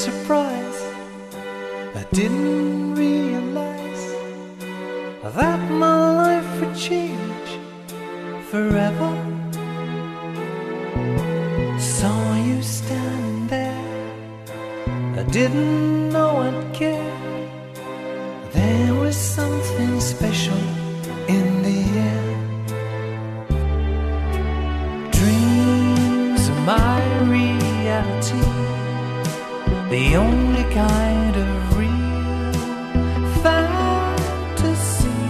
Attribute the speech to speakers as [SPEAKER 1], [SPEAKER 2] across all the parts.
[SPEAKER 1] surprise, I didn't realize that my life would change forever. Saw you standing there, I didn't know I'd care. There was something special in the air. Dreams are my reality, the only kind of real fantasy.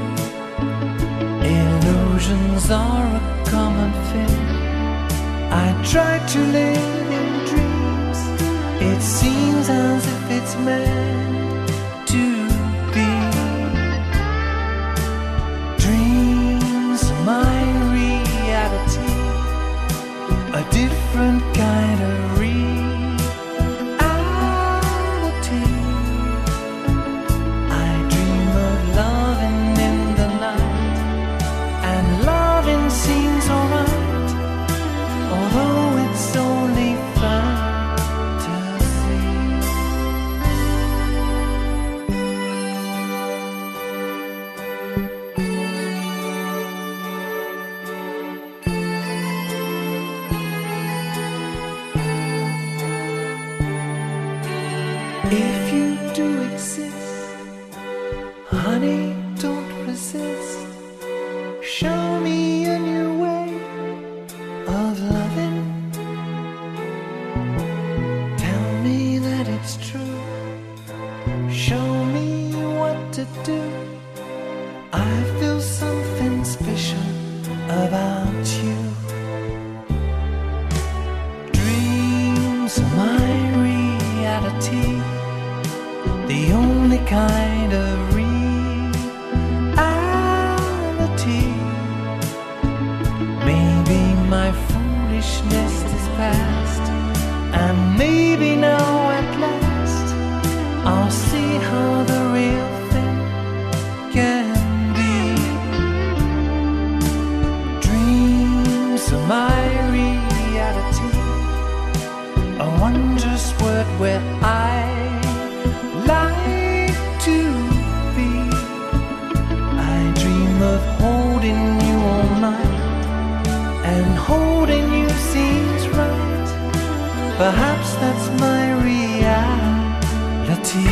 [SPEAKER 1] Illusions are a common thing. I try to live in dreams. It seems as if it's meant to be. Dreams are my reality, a different kind of reality. I dream of loving in the night, and loving seems alright, although it's only fantasy. If you do exist, honey, don't resist. Show me a new way of loving. Tell me that it's true. Show me what to do. I feel something special about you. Dreams are my reality, the only kind of reality. Maybe my foolishness is past, and maybe now at last I'll see how the real thing can be. Dreams are my reality, a wondrous word where I like to be. I dream of holding you all night, and holding you seems right. Perhaps that's my reality.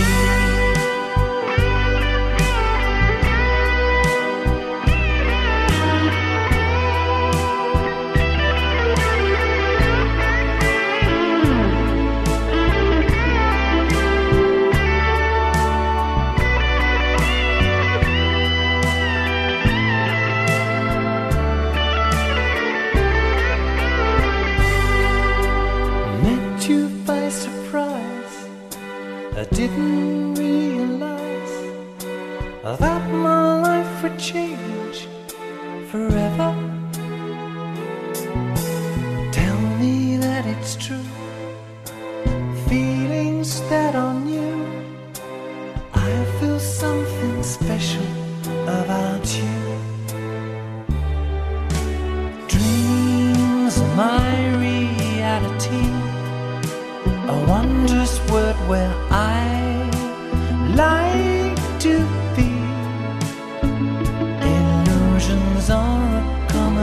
[SPEAKER 1] Met you by surprise, I didn't realize that my life would change forever. Tell me that it's true, feelings that are new. I feel something special about you. Dreams are my reality, a wondrous word where I like to be. Illusions are a common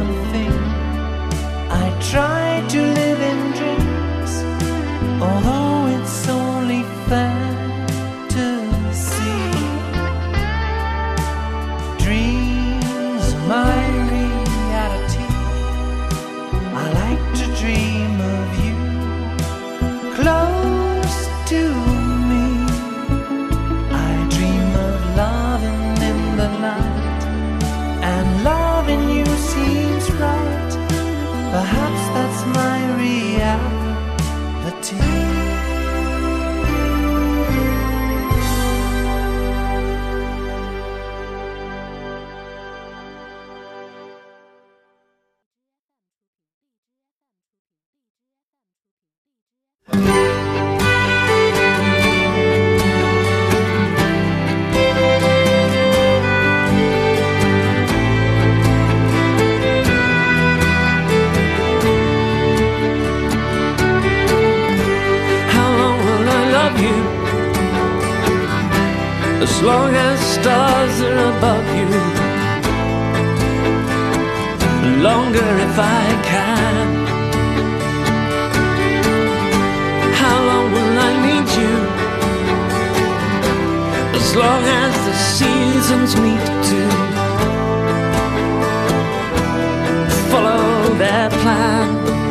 [SPEAKER 1] as long as stars are above you. Longer if I can. How long will I need you? As long as the seasons meet to follow their plan.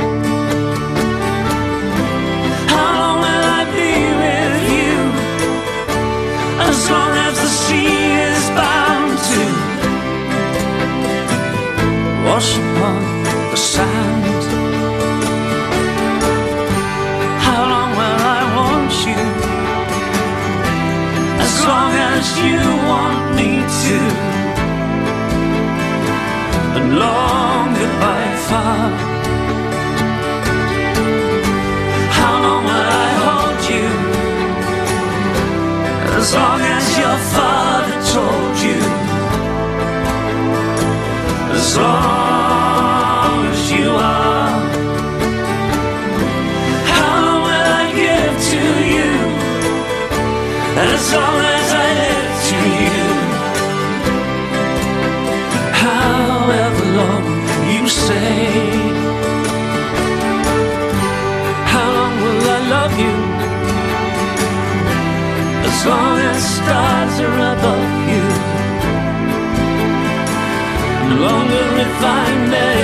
[SPEAKER 1] How long will I be with you? As long as the sea is bound to wash upon the sand. How long will I want you? As long as you want me to. And longer by far. How long will I hold you? As long as your father told you. As long as you are. How long will I give to you? As long as I live to you. However long you say. How long will I love you? As long as stars are above you. Longer if I may.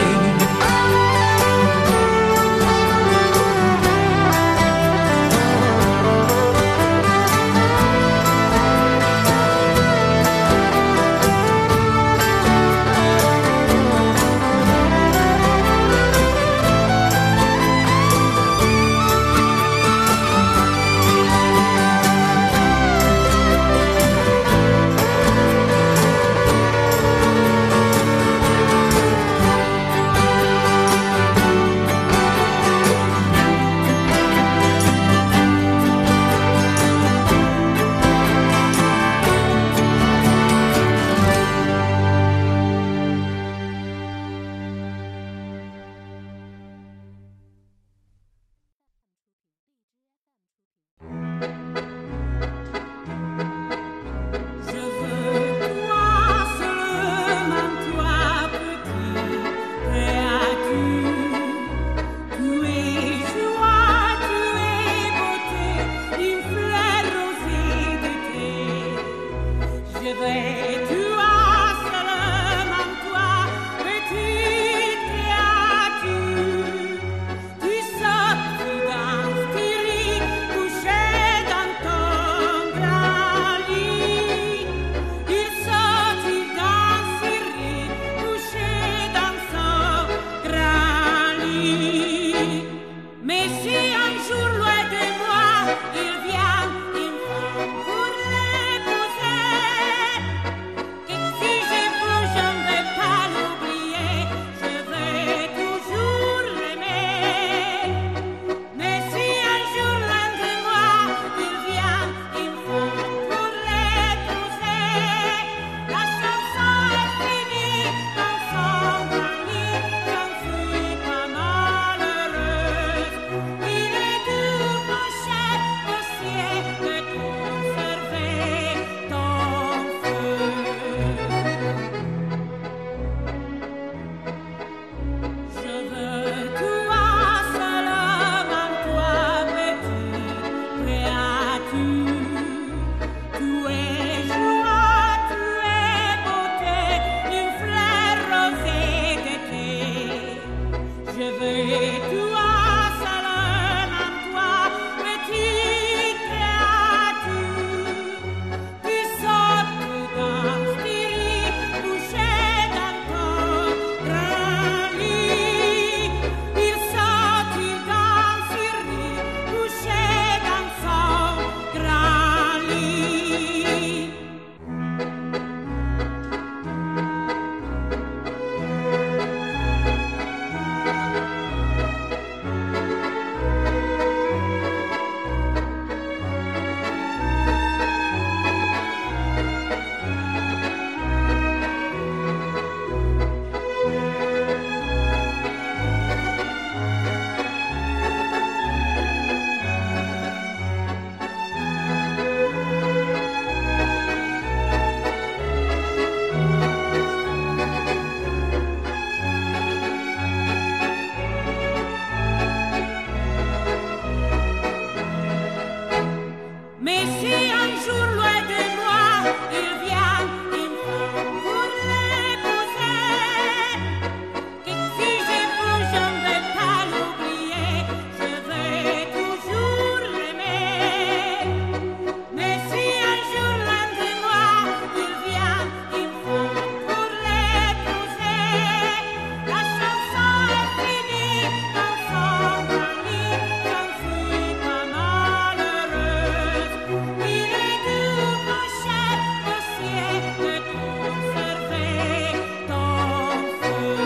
[SPEAKER 2] Mais si un jour loin de moi il vient, il faut pour l'épouser. Que si je vous, je ne vais pas l'oublier, je vais toujours l'aimer. Mais si un jour loin de moi il vient, il faut pour l'épouser. La chanson est finie, dans son lit, j'en suis pas malheureuse. Il est doux, mon cher dossier, de conserver ton feu.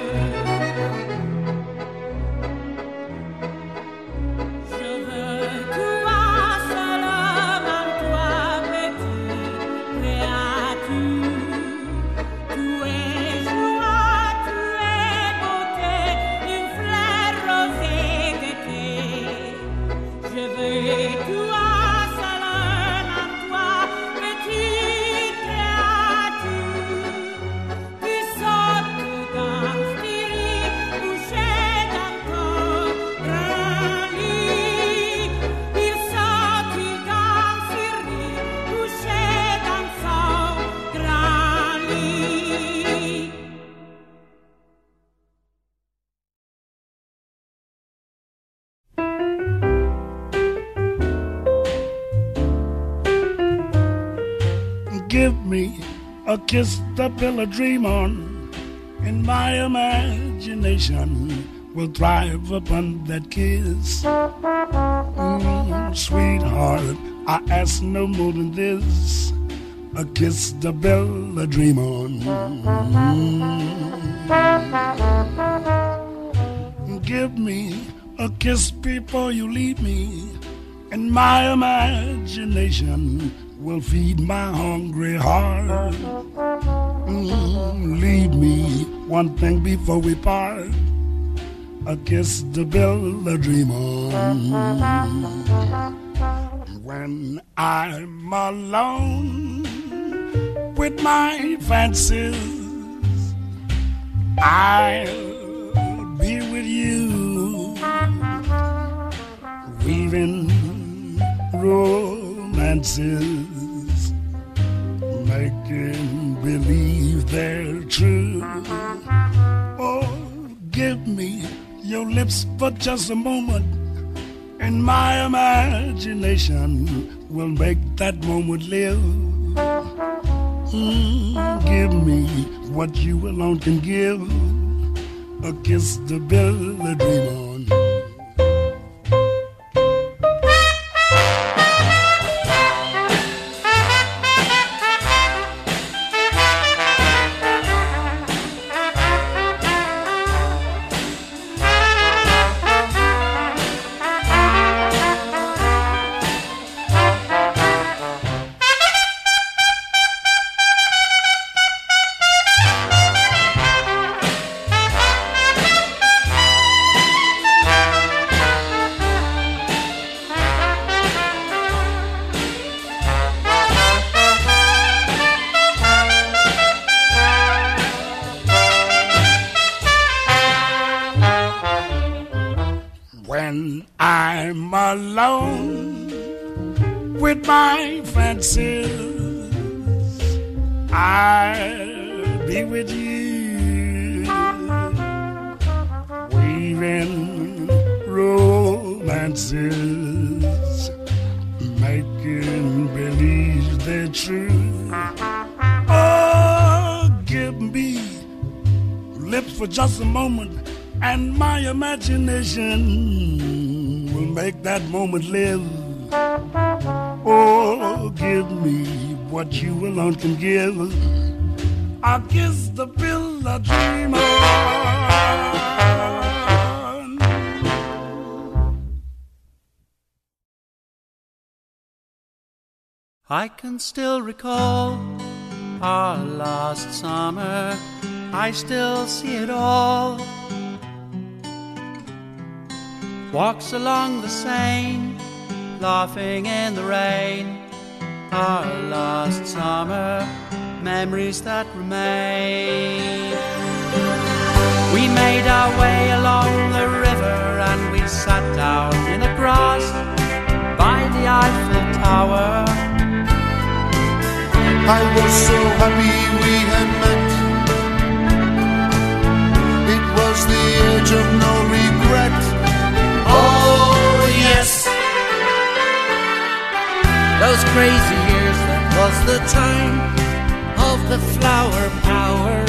[SPEAKER 2] Je veux toi, seulement toi, petite créature. Tu es joie, tu es beauté, une fleur rosée d'été. Je veux toi, seulement toi, petite créature. Tu sautes, tu danses, tu ris, couché dans ton grand lit. Il saute, il danse, il rit, couché dans son grand lit.
[SPEAKER 3] Give me a kiss to build a dream on, and my imagination will thrive upon that kiss. Sweetheart, I ask no more than this, a kiss to build a dream on. Give me a kiss before you leave me, and my imagination will feed my hungry heart. Leave me one thing before we part, a kiss to build a dream on. When I'm alone with my fancies, I'll be with you, weaving romances, making believe they're true. Oh, give me your lips for just a moment, and my imagination will make that moment live. Give me what you alone can give, a kiss to build a dream on. When I'm alone with my fancies, I'll be with you, weaving romances, making believe they're true. Oh, give me lips for just a moment, and my imagination will make that moment live. Oh, give me what you alone can give, I'll kiss the build a dream on.
[SPEAKER 4] I can still recall our last summer, I still see it all. Walks along the Seine, laughing in the rain. Our last summer, memories that remain. We made our way along the river and we sat down in the grass by the Eiffel Tower. flower.
[SPEAKER 5] I was so happy we had met. It was the age of no regret.
[SPEAKER 4] Oh yes, those crazy years, that was the time of the flower power.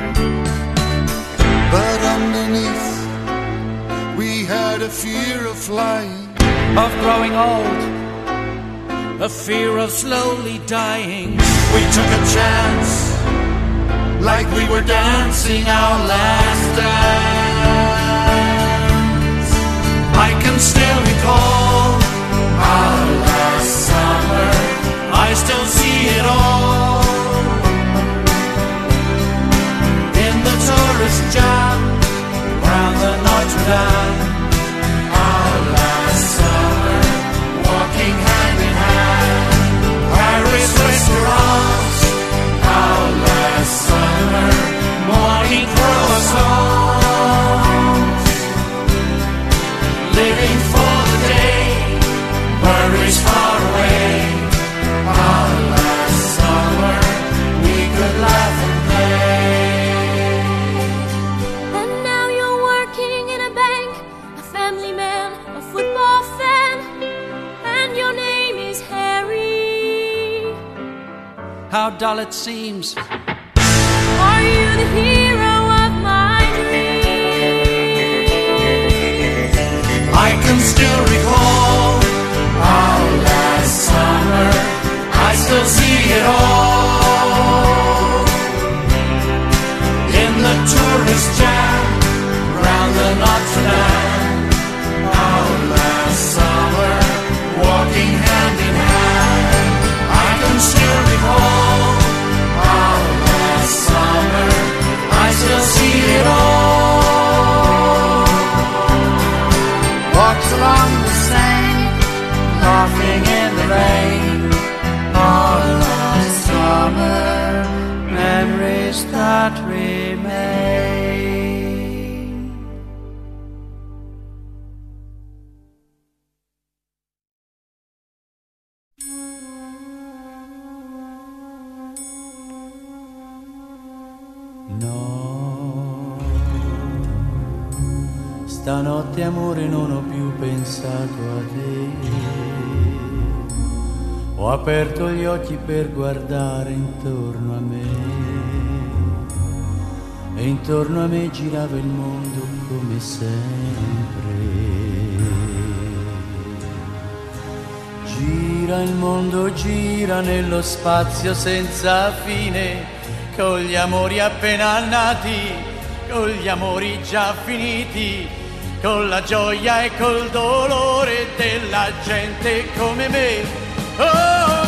[SPEAKER 5] But underneath we had a fear of flying,
[SPEAKER 4] of growing old, a fear of slowly dying.
[SPEAKER 5] we took a chance, like we were dancing our last dance.
[SPEAKER 4] I can still recall
[SPEAKER 5] Our last summer,
[SPEAKER 4] I still see it all in the tourist jam round the Notre Dame.
[SPEAKER 5] our last summer, walking hand in hand,
[SPEAKER 4] Paris restaurants,
[SPEAKER 5] our last summer,
[SPEAKER 4] morning croissants, living for the day, worries far away.
[SPEAKER 5] our last summer, we could laugh and play.
[SPEAKER 2] And now you're working in a bank, a family man, a football fan, and your name is Harry.
[SPEAKER 4] How dull it seems.
[SPEAKER 2] Are you the hero of my dreams?
[SPEAKER 5] I can still recall our last summer, I still see it all
[SPEAKER 4] In the tourist jam round the Notre Dame.
[SPEAKER 5] our last summer, walking hand in hand. I can still recall our last summer, I still see it all.
[SPEAKER 4] Walks along the Seine, laughing in the rain. All last summer, memories that remain. No, stanotte amore non ho più pensato a te. Ho aperto gli occhi per guardare intorno a me e intorno a me girava il mondo come sempre. Gira il mondo, gira nello spazio senza fine, con gli amori appena nati, con gli amori già finiti, con la gioia e col dolore della gente come me. Oh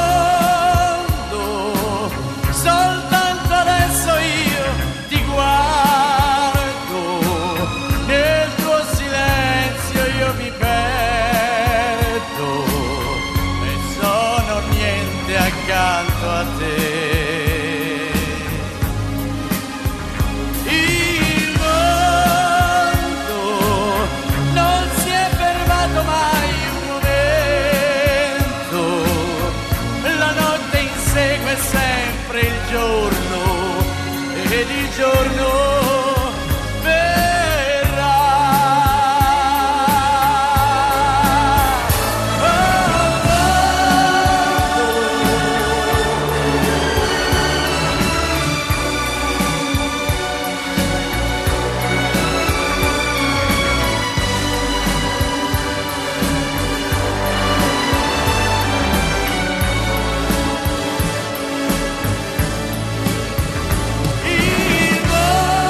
[SPEAKER 4] mondo, soltanto adesso io ti guardo, nel tuo silenzio io mi perdo e sono niente accanto a te. Il mondo non si è fermato mai un momento, la notte insegue sempre il giorno ed il giorno verrà. Il mondo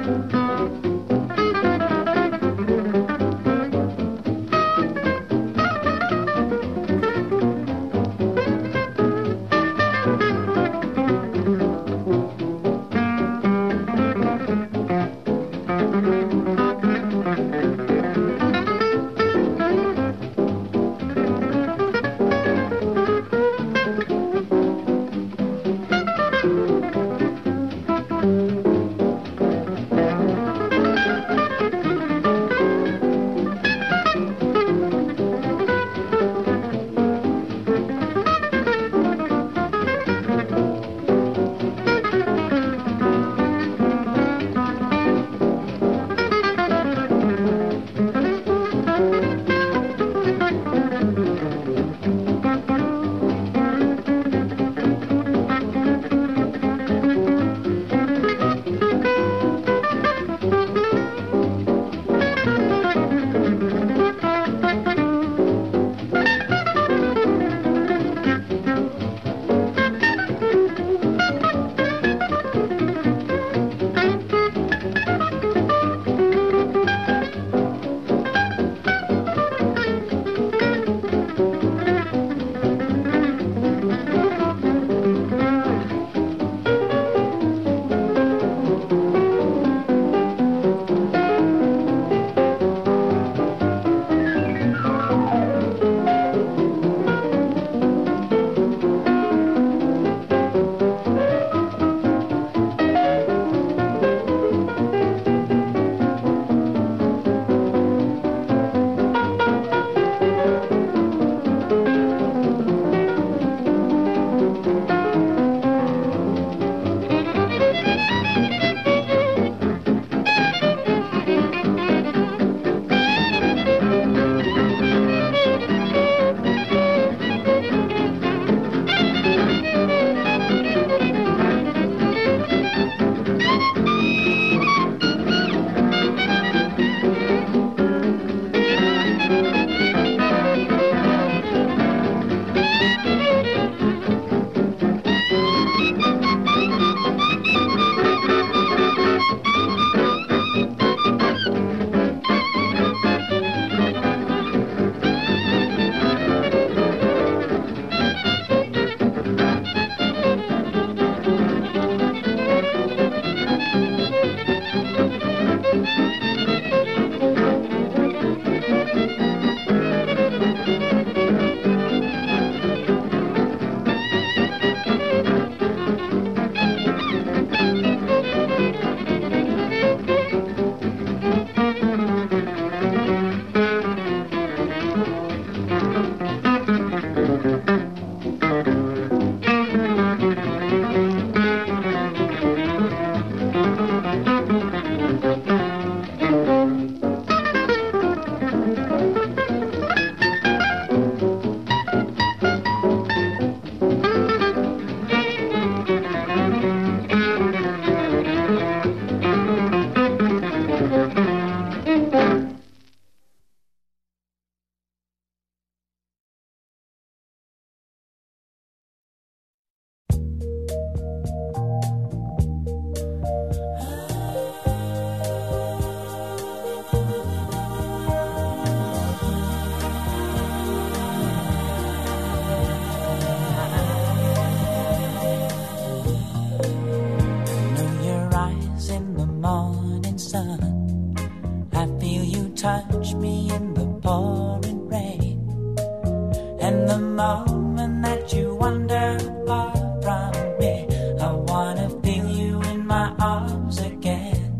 [SPEAKER 6] touch me in the pouring rain. And the moment that you wander far from me, I wanna feel you in my arms again.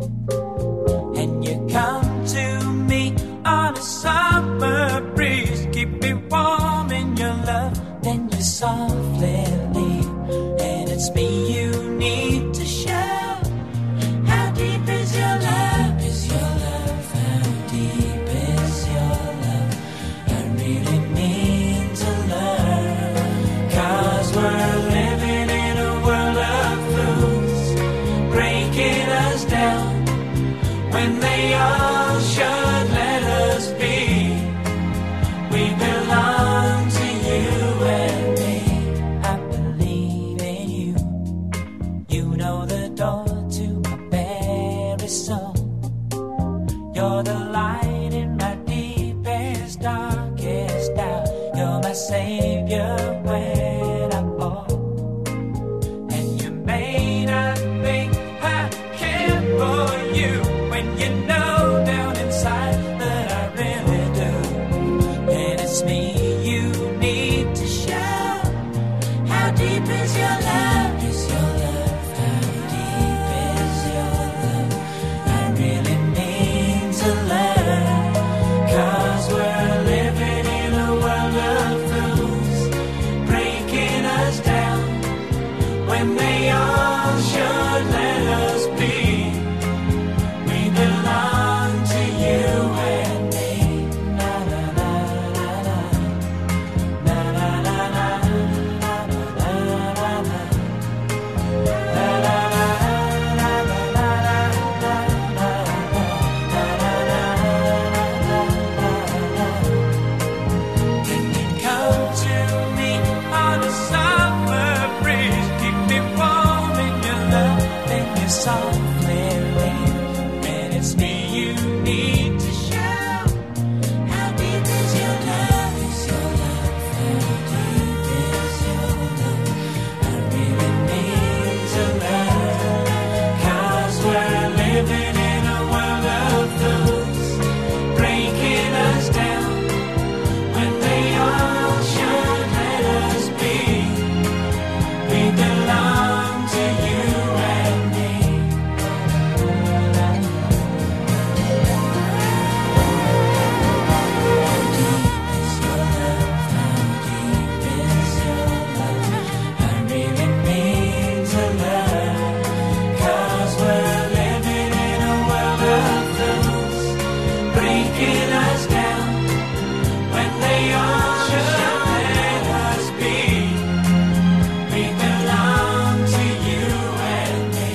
[SPEAKER 6] And you come to me on a summer breeze, keep me warm in your love, then you softly leave. And it's me you need to show. How deep is your love? When they all should let us be, we belong to you and me. I believe in you. You know the door to my very soul. You're the light in my deepest, darkest doubt. You're my savior when I fall. And you may not think I care for you when you know down inside that I really do. And it's me you need to show. How deep is your love? Is your love? How deep is your love? I really need to learn. 'Cause we're living in a world of fools, breaking us down when they all should let us be. We belong to you and me. Na na na na na. Na na na na. Na na na na. Na na na na na na. Can you come to me on a summer breeze? Keep me warm in your love and your softly leave. And it's me you need to show. How deep is your love? Is your love? How deep is your love? I really need to learn. 'Cause we're living in a world of fools, breaking us down when they all should let us be. We belong to you and me. How deep is your love? How deep is your love? I really need to learn. 'Cause we're living in a world of fools, breaking us down when they all should let us be. We belong to you and me.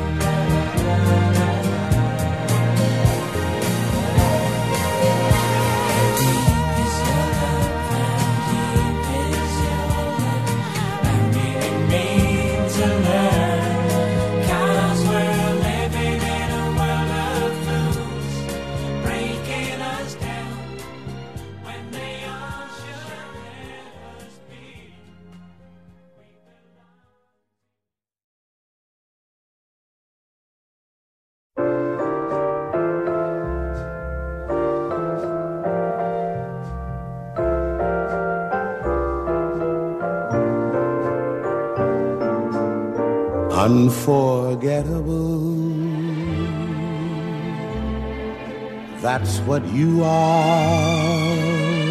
[SPEAKER 6] How deep is your love? How deep is your love? I really need to learn. 'Cause we're living in a world of fools, breaking us down when they all should let us be.
[SPEAKER 7] Unforgettable, that's what you are.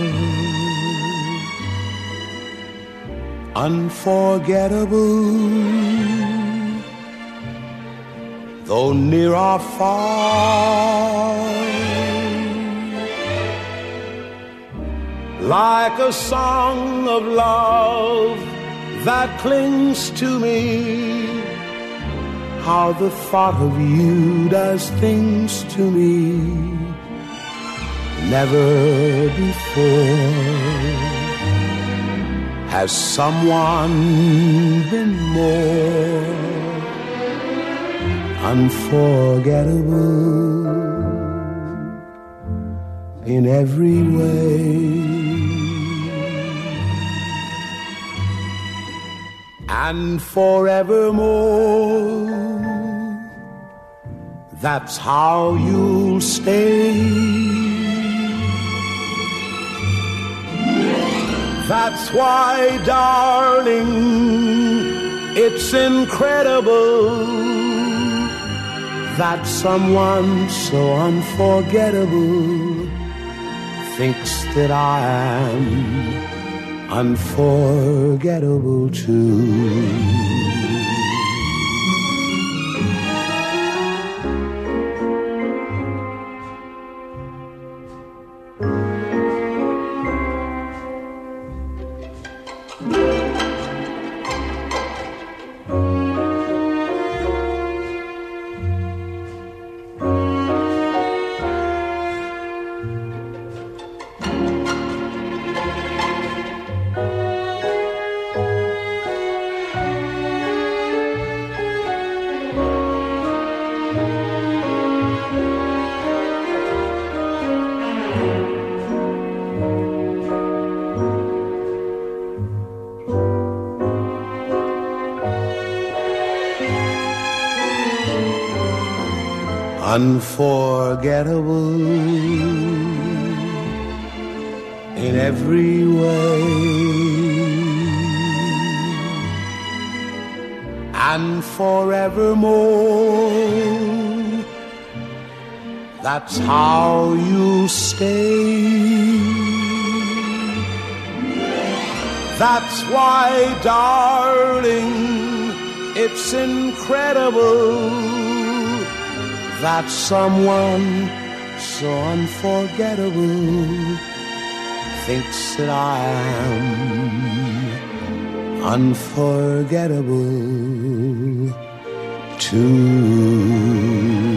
[SPEAKER 7] Unforgettable, though near or far. Like a song of love that clings to me, how the thought of you does things to me never before has someone been more unforgettable in every way. And forevermore, that's how you'll stay. That's why, darling, it's incredible that someone so unforgettable thinks that I am unforgettable too. unforgettable in every way, and forevermore. That's how you stay. That's why, darling, it's incredible that someone so unforgettable thinks that I am unforgettable too.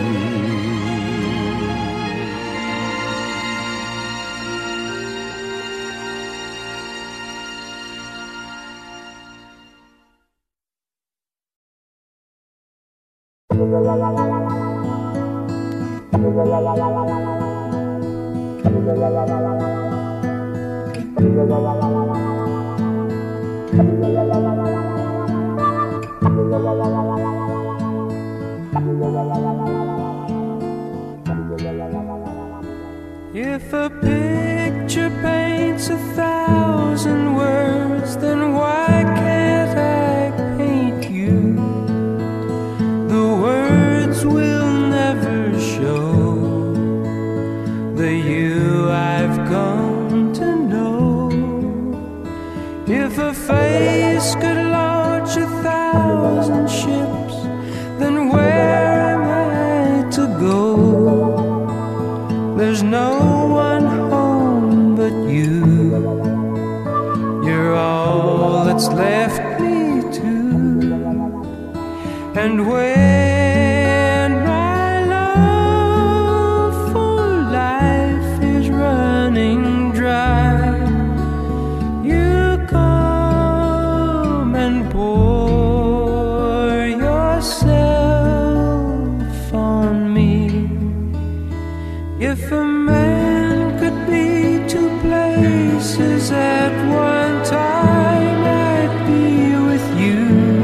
[SPEAKER 1] If a picture paints 1,000 words, then why can't I paint you? The words will never show the you I've come to know. If a face could launch 1,000 ships, then where am I to go? There's no one home but you. You're all that's left me to. And when my love for life is running dry, you come and pour yourself on me. If a man could be 2 places at one time, I'd be with you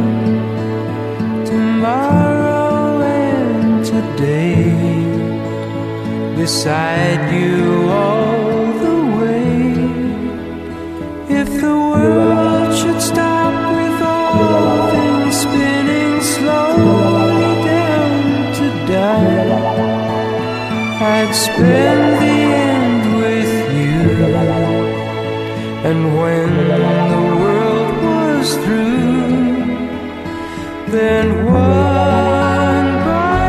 [SPEAKER 1] tomorrow and today, beside you all the way. If the world should stop with all things spinning slowly down to die, I'd spend the end with you. And when the world was through, then one by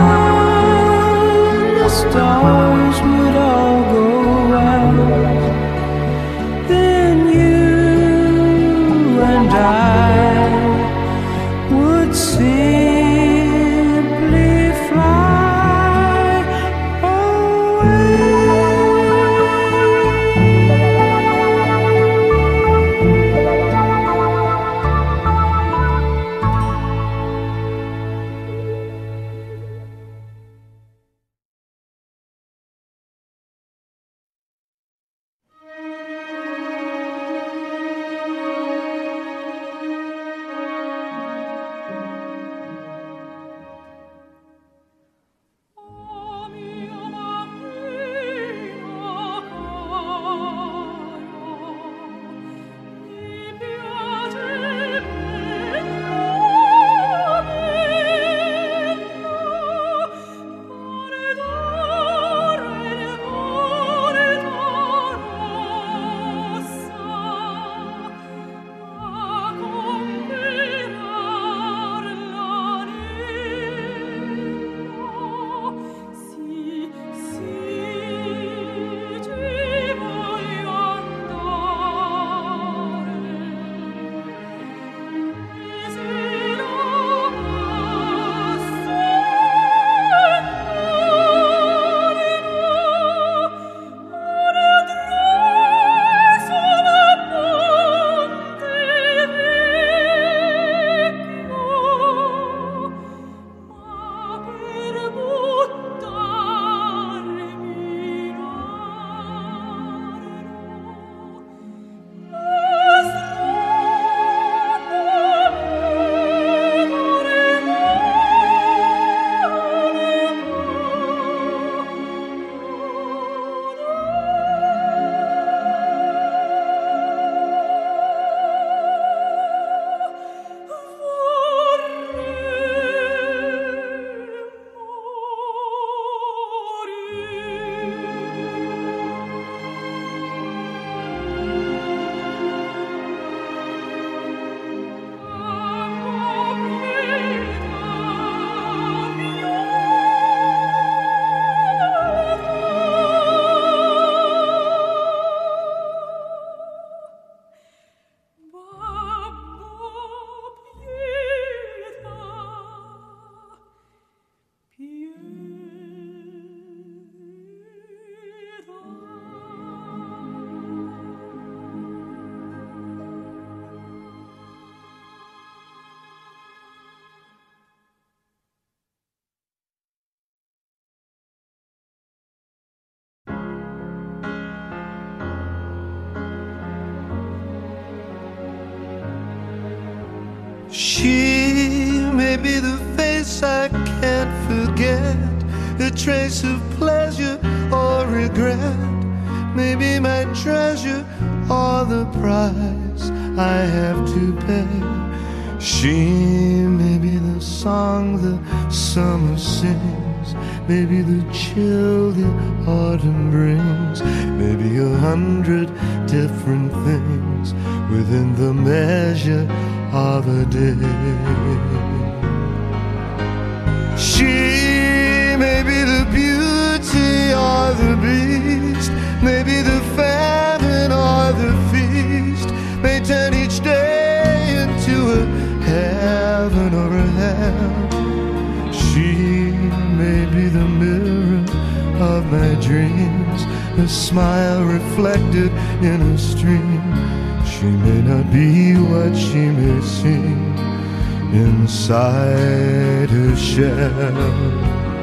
[SPEAKER 1] one the stars would all go out. Then you and I would simply fly away. She may be the face I can't forget, a trace of pleasure or regret, maybe my treasure or the price I have to pay. She may be the song the summer sings, maybe the chill the autumn brings, maybe 100 different things within the measure of a day. She may be the beauty or the beast, maybe the famine or the feast, may turn each day into a heaven or a hell. She may be the mirror of my dreams, a smile reflected in a stream. She may not be what she may seem inside her shell.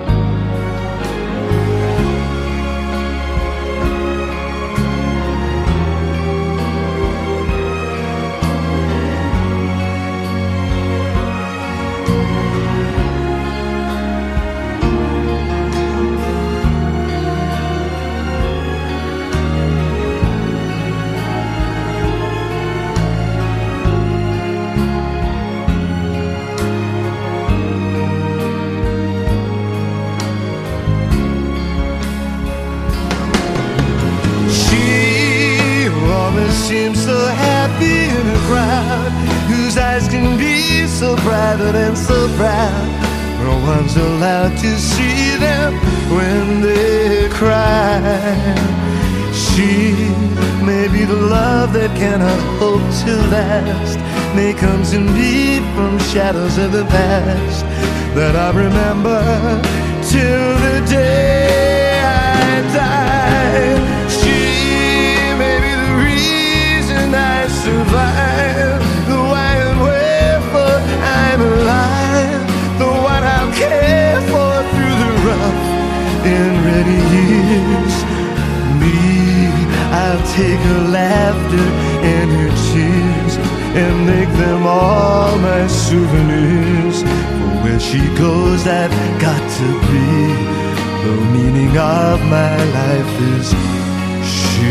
[SPEAKER 1] Seems so happy in a crowd whose eyes can be so private and so proud. No one's allowed to see them when they cry. She may be the love that cannot hope to last, may come to me from shadows of the past that I remember till the day I die. She may be the reason I survive, the why and wherefore I'm alive, the one I'll care for through the rough and ready years. Me, I'll take her laughter and her tears and make them all my souvenirs. For where she goes, I've got to be. The meaning of my life is she.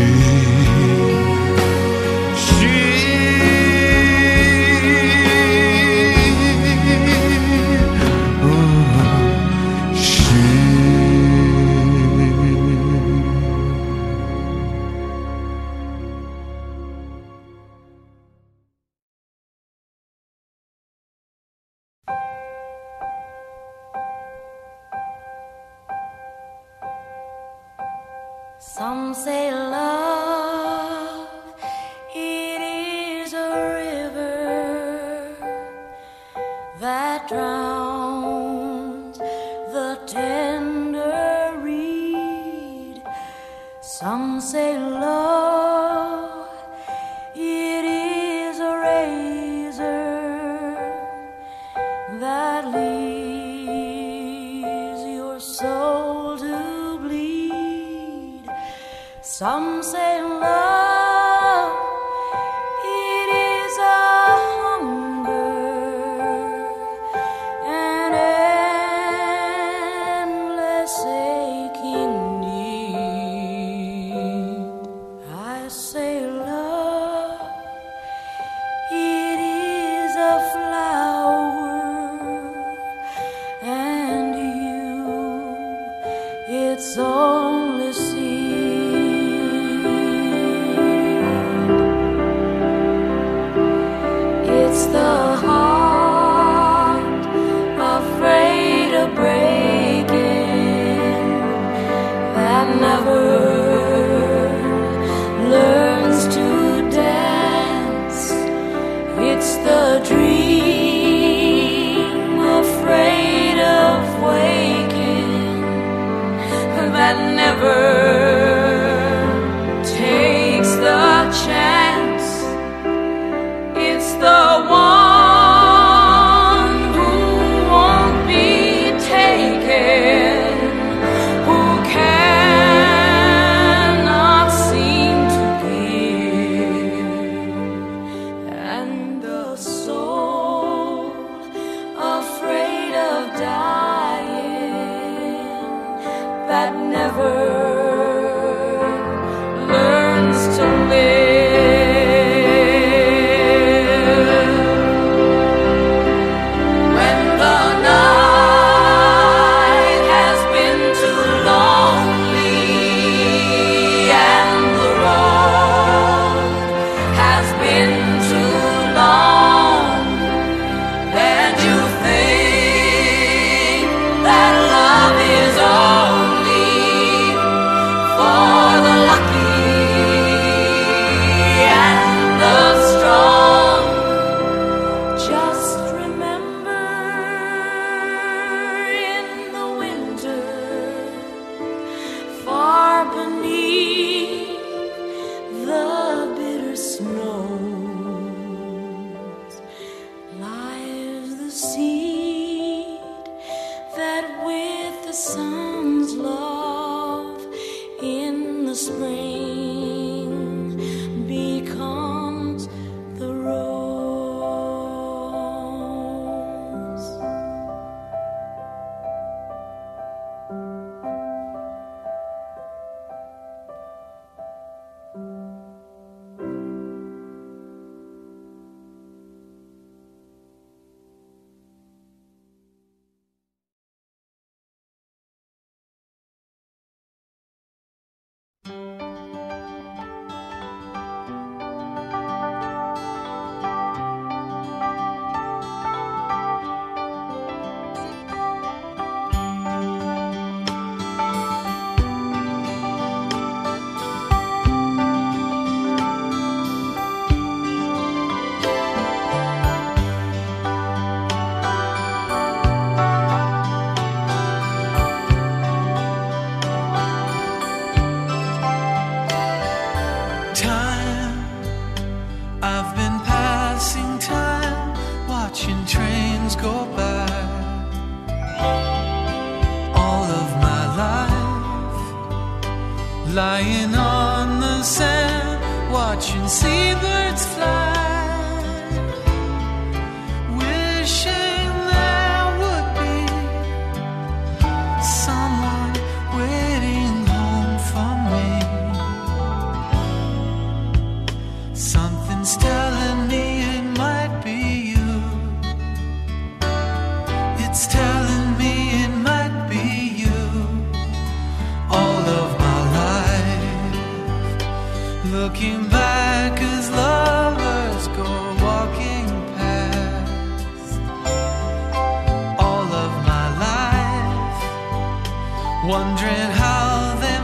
[SPEAKER 2] Some say love, it is a river that drowns the tender reed. Some say love, it is a razor that leaves your soul to bleed. Some say love, it is a hunger, an endless aching need. I say love, it is a flower, and you, it's only seed. It's the heart afraid of breaking that never learns to dance. It's the dream afraid of waking that never takes the chance. It's the one who won't be taken, who cannot seem to give, and the soul
[SPEAKER 6] that never learns to live. When the night has been too lonely and the road has been too long, and you think that love is only for the lucky and the strong, just remember in the winter, far beneath the bitter snows, lies the seed that with the sun's love in the spring becomes the rose.
[SPEAKER 1] Time, I've been passing time, watching trains go by. All of my life, lying on the sand, watching seabirds fly, wishing there would be someone waiting home for me. Something's telling me it might be you. It's telling me it might be you. All of my life, looking back as lovers go walking past. All of my life, wondering how they